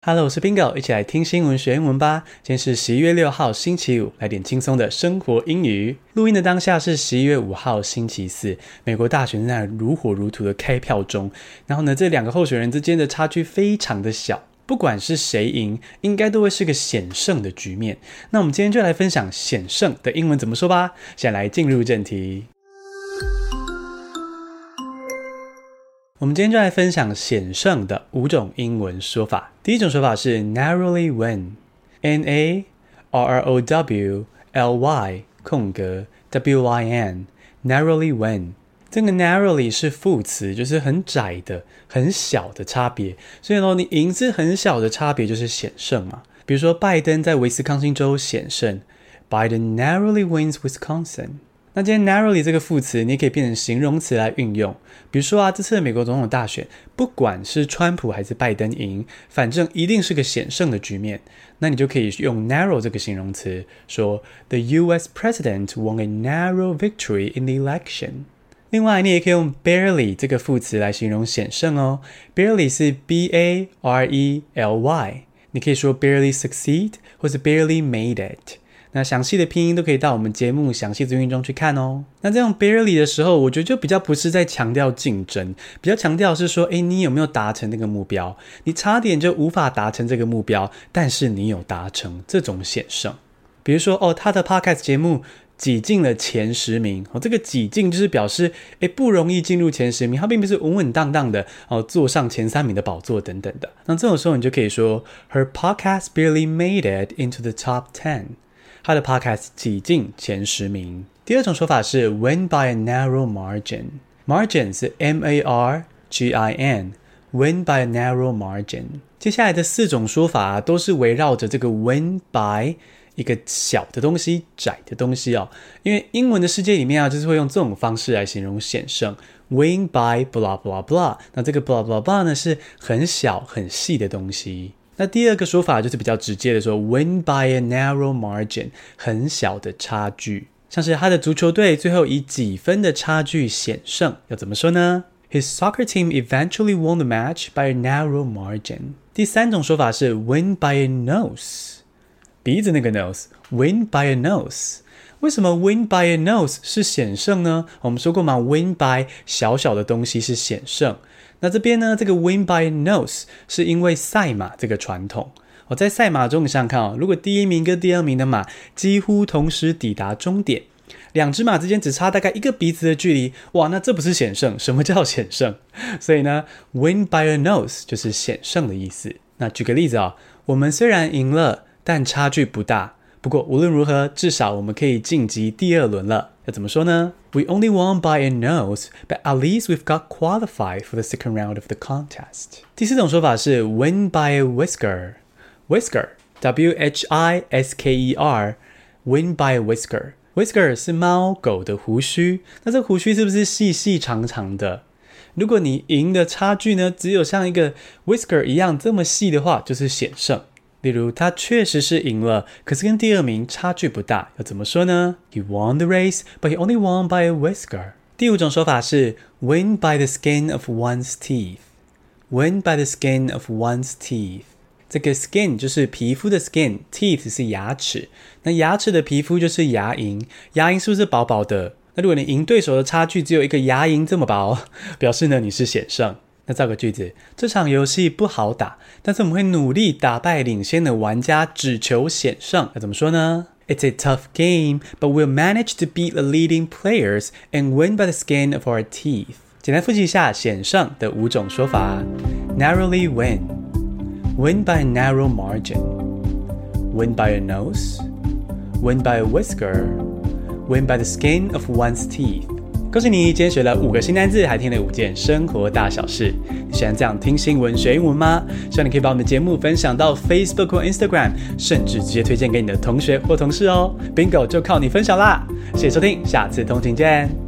Hello， 我是 Bingo， 一起來聽新聞學英文吧。今天是11月6號星期五，來點輕鬆的生活英語。錄音的當下是11月5號星期四，美國大選正在如火如荼的開票中。然後呢，這兩個候選人之間的差距非常的小，不管是誰贏，應該都會是個險勝的局面。那我們今天就來分享險勝的英文怎麼說吧。先來進入正題。我們今天就來分享險勝的5種英文說法。第一種說法是 narrowly win， N-A-R-R-O-W-L-Y 空格 W-I-N narrowly win。 這個 narrowly 是副詞，就是很窄的很小的差別，所以呢，你贏是很小的差別就是險勝嘛。比如說拜登在威斯康星州險勝， Biden narrowly wins Wisconsin。那今天 narrowly 這個副詞你也可以變成形容詞來運用，比如說這次的美國總統大選，不管是川普還是拜登贏，反正一定是個險勝的局面，那你就可以用 narrow 這個形容詞說 The US president won a narrow victory in the election。 另外你也可以用 barely 這個副詞來形容險勝哦， barely 是 B-A-R-E-L-Y， 你可以說 barely succeed 或是 barely made it。那詳細的拼音都可以到我們節目詳細資訊中去看哦。那這樣 barely 的時候，我覺得就比較不是在強調競爭，比較強調是說，你有沒有達成那個目標？你差點就無法達成這個目標，但是你有達成，這種險勝。比如說他的 podcast 節目擠進了前10名，這個擠進就是表示不容易進入前10名，它並不是穩穩當當的坐上前3名的寶座等等的。那這種時候你就可以說 Her podcast barely made it into the top 10。他的 podcast 擠進前10名。第二種說法是 win by a narrow margin。 Margin 是 M-A-R-G-I-N， win by a narrow margin。 接下來的4種說法都是圍繞着這個 win by 一個小的東西，窄的東西因為英文的世界裡面就是會用這種方式來形容險勝， win by blah blah blah。 那這個 blah blah blah 呢是很小很細的東西。那第二個說法就是比較直接的說 win by a narrow margin， 很小的差距，像是他的足球隊最後以幾分的差距險勝，要怎麼說呢？ His soccer team eventually won the match by a narrow margin。 第三種說法是 win by a nose， 鼻子那個 nose， win by a nose。為什麼 win by a nose 是險勝呢？我們說過嘛， win by 小小的東西是險勝。那這邊呢，這個 win by a nose 是因為賽馬這個傳統。在賽馬中你想想看如果第1名跟第2名的馬幾乎同時抵達終點，2隻馬之間只差大概1個鼻子的距離，哇，那這不是險勝。什麼叫險勝？所以呢 win by a nose 就是險勝的意思。那舉個例子我們雖然贏了，但差距不大，不過無論如何至少我們可以晉級第2輪了。要怎麼說呢？ We only won by a nose, but at least we've got qualified for the second round of the contest。 第4種說法是 win by a whisker。 Whisker W-H-I-S-K-E-R win by a whisker。 Whisker 是貓狗的鬍鬚，那這個鬍鬚是不是細細長長的？如果你贏的差距呢只有像一個 whisker 一樣這麼細的話，就是險勝。例如他確實是贏了，可是跟第2名差距不大，要怎麼說呢？ He won the race, but he only won by a whisker。 第5種說法是 win by the skin of one's teeth。 Win by the skin of one's teeth。 這個 skin 就是皮膚的 skin， teeth 是牙齒，那牙齒的皮膚就是牙齦，牙齦是不是薄薄的？那如果你贏對手的差距只有一個牙齦這麼薄，表示呢你是險勝。那造個句子，這場遊戲不好打，但是我們會努力打敗領先的玩家，只求險勝。要怎麼說呢？ It's a tough game, but we'll manage to beat the leading players and win by the skin of our teeth。 簡單複習一下險勝的5種說法。 Narrowly win， Win by a narrow margin， Win by a nose， Win by a whisker， Win by the skin of one's teeth。恭喜你，今天學了5個新單字，還聽了5件生活大小事。你喜歡這樣聽新聞學英文嗎？希望你可以把我們的節目分享到 Facebook 或 Instagram， 甚至直接推薦給你的同學或同事哦。Bingo 就靠你分享啦！謝謝收聽，下次通勤見。